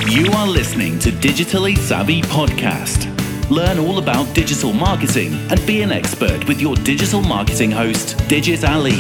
You are listening to Digitally Savvy Podcast. Learn all about digital marketing and be an expert with your digital marketing host, Digit Ali.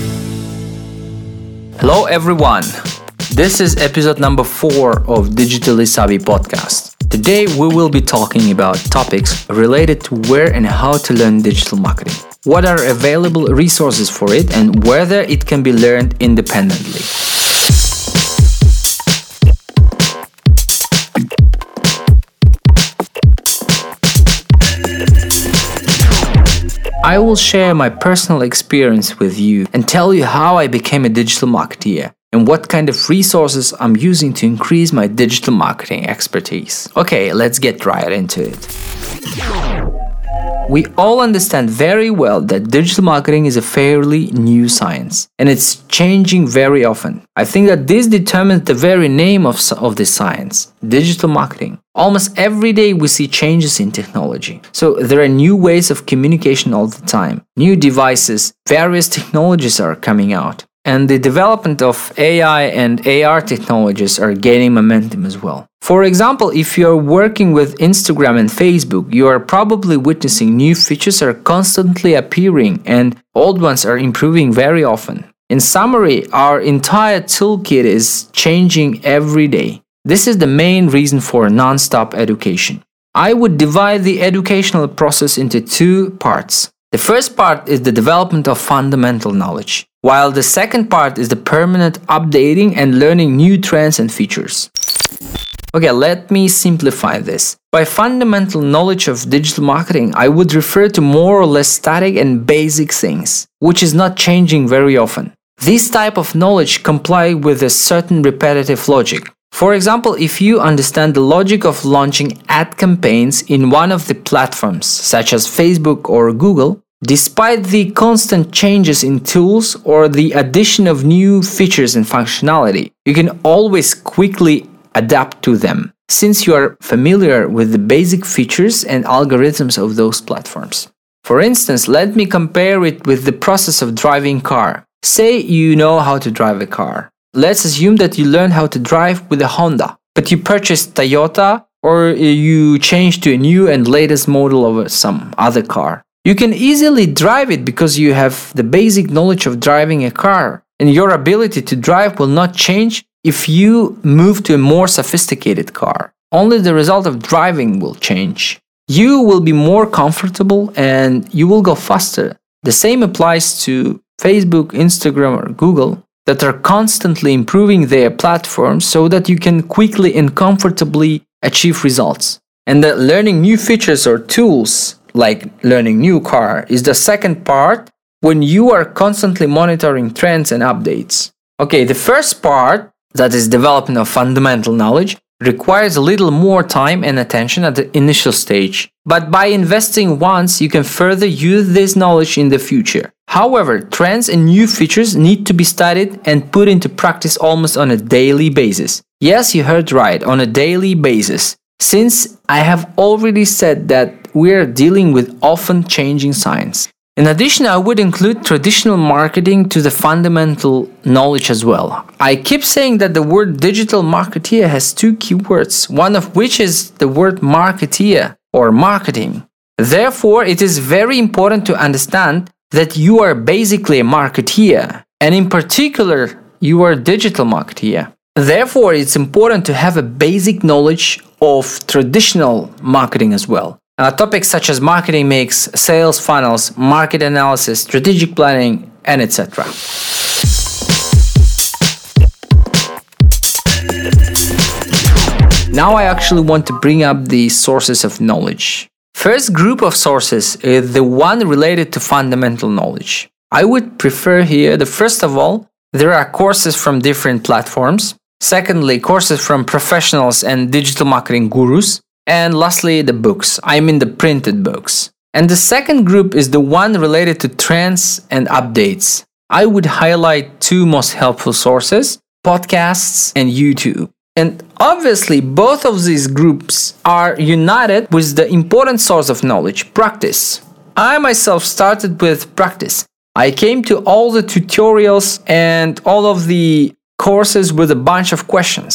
Hello everyone. This is episode number 4 of Digitally Savvy Podcast. Today we will be talking about topics related to where and how to learn digital marketing, what are available resources for it, and whether it can be learned independently. I will share my personal experience with you and tell you how I became a digital marketeer and what kind of resources I'm using to increase my digital marketing expertise. Okay, let's get right into it. We all understand very well that digital marketing is a fairly new science and it's changing very often. I think that this determines the very name of this science, digital marketing. Almost every day we see changes in technology. So there are new ways of communication all the time. New devices, various technologies are coming out. And the development of AI and AR technologies are gaining momentum as well. For example, if you're working with Instagram and Facebook, you are probably witnessing new features are constantly appearing and old ones are improving very often. In summary, our entire toolkit is changing every day. This is the main reason for non-stop education. I would divide the educational process into 2 parts. The first part is the development of fundamental knowledge, while the second part is the permanent updating and learning new trends and features. Okay, let me simplify this. By fundamental knowledge of digital marketing, I would refer to more or less static and basic things, which is not changing very often. This type of knowledge comply with a certain repetitive logic. For example, if you understand the logic of launching ad campaigns in one of the platforms, such as Facebook or Google, despite the constant changes in tools or the addition of new features and functionality, you can always quickly adapt to them, since you are familiar with the basic features and algorithms of those platforms. For instance, let me compare it with the process of driving a car. Say you know how to drive a car. Let's assume that you learn how to drive with a Honda, but you purchased Toyota or you change to a new and latest model of some other car. You can easily drive it because you have the basic knowledge of driving a car, and your ability to drive will not change if you move to a more sophisticated car. Only the result of driving will change. You will be more comfortable and you will go faster. The same applies to Facebook, Instagram, or Google, that are constantly improving their platforms so that you can quickly and comfortably achieve results. And that learning new features or tools, like learning new car, is the second part when you are constantly monitoring trends and updates. Okay, the first part, that is development of fundamental knowledge, requires a little more time and attention at the initial stage. But by investing once, you can further use this knowledge in the future. However, trends and new features need to be studied and put into practice almost on a daily basis. Yes, you heard right, on a daily basis. Since I have already said that we are dealing with often changing science. In addition, I would include traditional marketing to the fundamental knowledge as well. I keep saying that the word digital marketeer has 2 keywords, one of which is the word marketeer or marketing. Therefore, it is very important to understand that you are basically a marketeer, and in particular, you are a digital marketeer. Therefore, it's important to have a basic knowledge of traditional marketing as well. Topics such as marketing mix, sales funnels, market analysis, strategic planning, and etc. Now I actually want to bring up the sources of knowledge. First group of sources is the one related to fundamental knowledge. I would prefer here that first of all, there are courses from different platforms. Secondly, courses from professionals and digital marketing gurus. And lastly, the books. I mean the printed books. And the second group is the one related to trends and updates. I would highlight 2 most helpful sources, podcasts and YouTube. And obviously, both of these groups are united with the important source of knowledge, practice. I myself started with practice. I came to all the tutorials and all of the courses with a bunch of questions.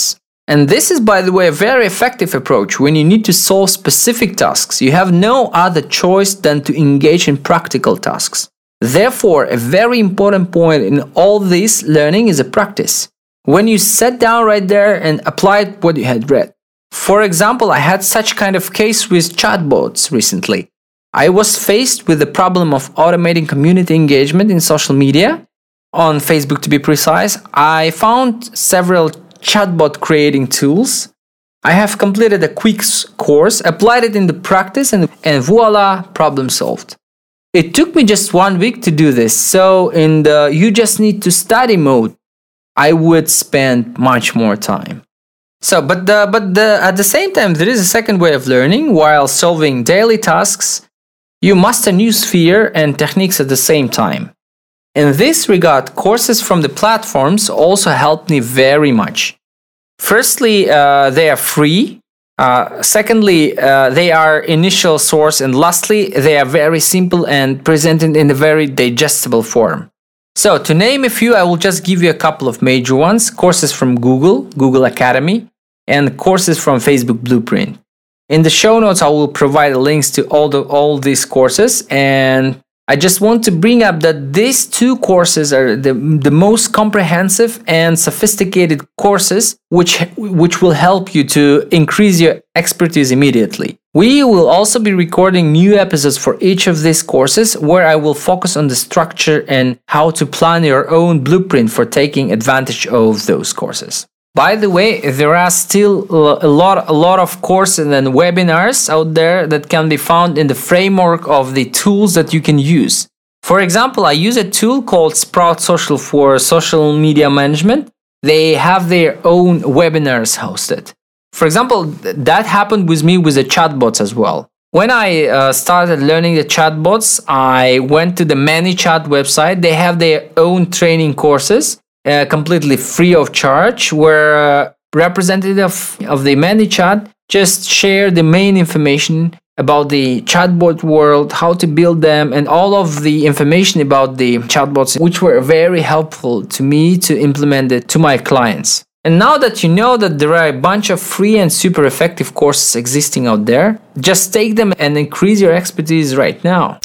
And this is, by the way, a very effective approach when you need to solve specific tasks. You have no other choice than to engage in practical tasks. Therefore, a very important point in all this learning is a practice. When you sat down right there and applied what you had read. For example, I had such kind of case with chatbots recently. I was faced with the problem of automating community engagement in social media, on Facebook to be precise. I found several chatbot creating tools. I have completed a quick course, applied it in the practice, and voila, problem solved. It took me just 1 week to do this, so in the you just need to study mode, I would spend much more time. So, but at the same time, there is a second way of learning. While solving daily tasks, you master new sphere and techniques at the same time. In this regard, courses from the platforms also helped me very much. Firstly, they are free. Secondly, they are initial source. And lastly, they are very simple and presented in a very digestible form. So, to name a few, I will just give you a couple of major ones. Courses from Google Academy, and courses from Facebook Blueprint. In the show notes, I will provide links to all these courses, and I just want to bring up that these two courses are the most comprehensive and sophisticated courses which will help you to increase your expertise immediately. We will also be recording new episodes for each of these courses where I will focus on the structure and how to plan your own blueprint for taking advantage of those courses. By the way, there are still a lot of courses and webinars out there that can be found in the framework of the tools that you can use. For example, I use a tool called Sprout Social for social media management. They have their own webinars hosted. For example, that happened with me with the chatbots as well. When I started learning the chatbots, I went to the ManyChat website. They have their own training courses. Completely free of charge, where representative of the ManyChat just share the main information about the chatbot world, how to build them, and all of the information about the chatbots, which were very helpful to me to implement it to my clients. And now that you know that there are a bunch of free and super effective courses existing out there, just take them and increase your expertise right now.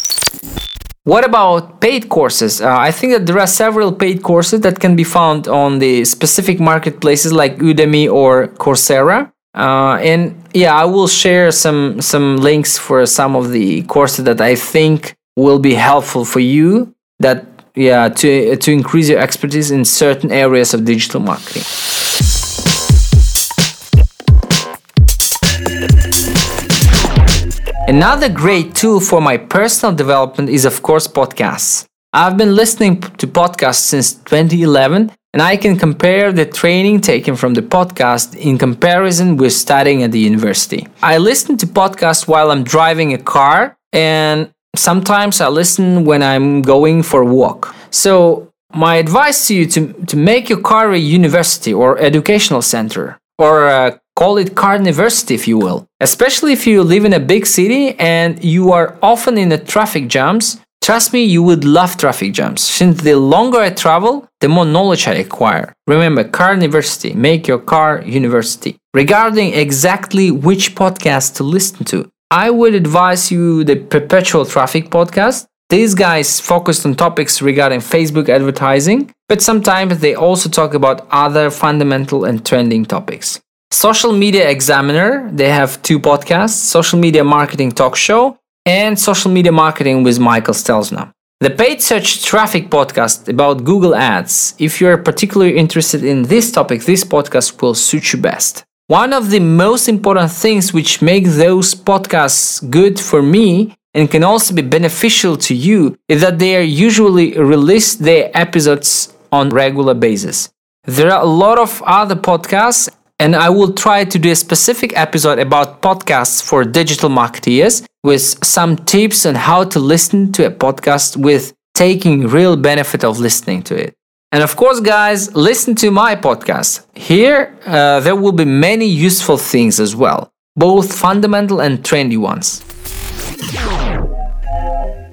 What about paid courses? I think that there are several paid courses that can be found on the specific marketplaces like Udemy or Coursera. And yeah, I will share some links for some of the courses that I think will be helpful for you to increase your expertise in certain areas of digital marketing. Another great tool for my personal development is, of course, podcasts. I've been listening to podcasts since 2011, and I can compare the training taken from the podcast in comparison with studying at the university. I listen to podcasts while I'm driving a car, and sometimes I listen when I'm going for a walk. So my advice to you to make your car a university or educational center, or call it Carniversity if you will. Especially if you live in a big city and you are often in the traffic jams. Trust me, you would love traffic jams, since the longer I travel, the more knowledge I acquire. Remember, Carniversity, make your car university. Regarding exactly which podcast to listen to, I would advise you the Perpetual Traffic podcast. These guys focused on topics regarding Facebook advertising, but sometimes they also talk about other fundamental and trending topics. Social Media Examiner, they have two podcasts, Social Media Marketing Talk Show and Social Media Marketing with Michael Stelzner. The Paid Search Traffic podcast about Google Ads. If you're particularly interested in this topic, this podcast will suit you best. One of the most important things which make those podcasts good for me and can also be beneficial to you is that they are usually release their episodes on regular basis. There are a lot of other podcasts, and I will try to do a specific episode about podcasts for digital marketeers with some tips on how to listen to a podcast with taking real benefit of listening to it. And of course, guys, listen to my podcast. Here, there will be many useful things as well, both fundamental and trendy ones.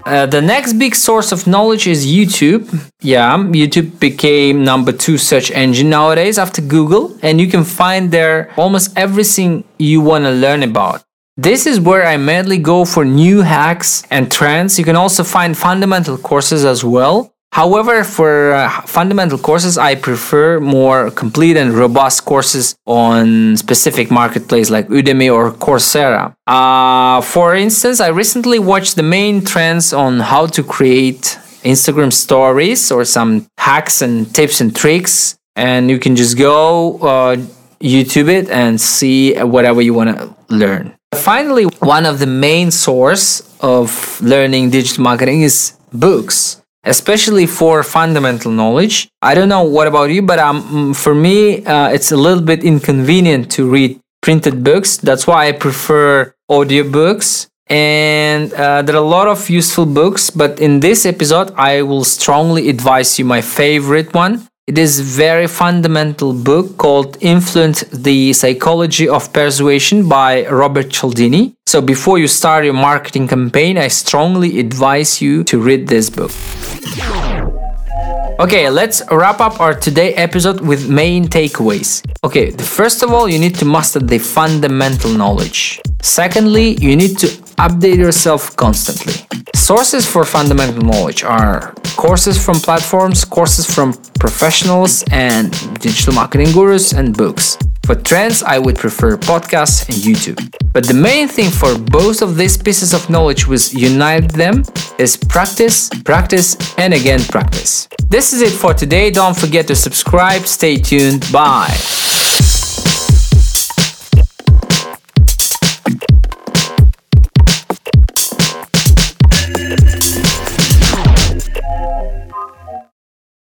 The next big source of knowledge is YouTube. Yeah, YouTube became number 2 search engine nowadays after Google, and you can find there almost everything you want to learn about. This is where I mainly go for new hacks and trends. You can also find fundamental courses as well. However, for fundamental courses, I prefer more complete and robust courses on specific marketplace like Udemy or Coursera. For instance, I recently watched the main trends on how to create Instagram stories or some hacks and tips and tricks. And you can just go YouTube it and see whatever you want to learn. Finally, one of the main source of learning digital marketing is books, especially for fundamental knowledge. I don't know what about you, but for me, it's a little bit inconvenient to read printed books. That's why I prefer audiobooks. And there are a lot of useful books, but in this episode, I will strongly advise you my favorite one. It is a very fundamental book called Influence: The Psychology of Persuasion by Robert Cialdini. So before you start your marketing campaign, I strongly advise you to read this book. Okay, let's wrap up our today episode with main takeaways. Okay, first of all, you need to master the fundamental knowledge. Secondly, you need to update yourself constantly. Sources for fundamental knowledge are courses from platforms, courses from professionals and digital marketing gurus, and books. For trends, I would prefer podcasts and YouTube. But the main thing for both of these pieces of knowledge which unite them is practice, practice, and again practice. This is it for today. Don't forget to subscribe. Stay tuned. Bye.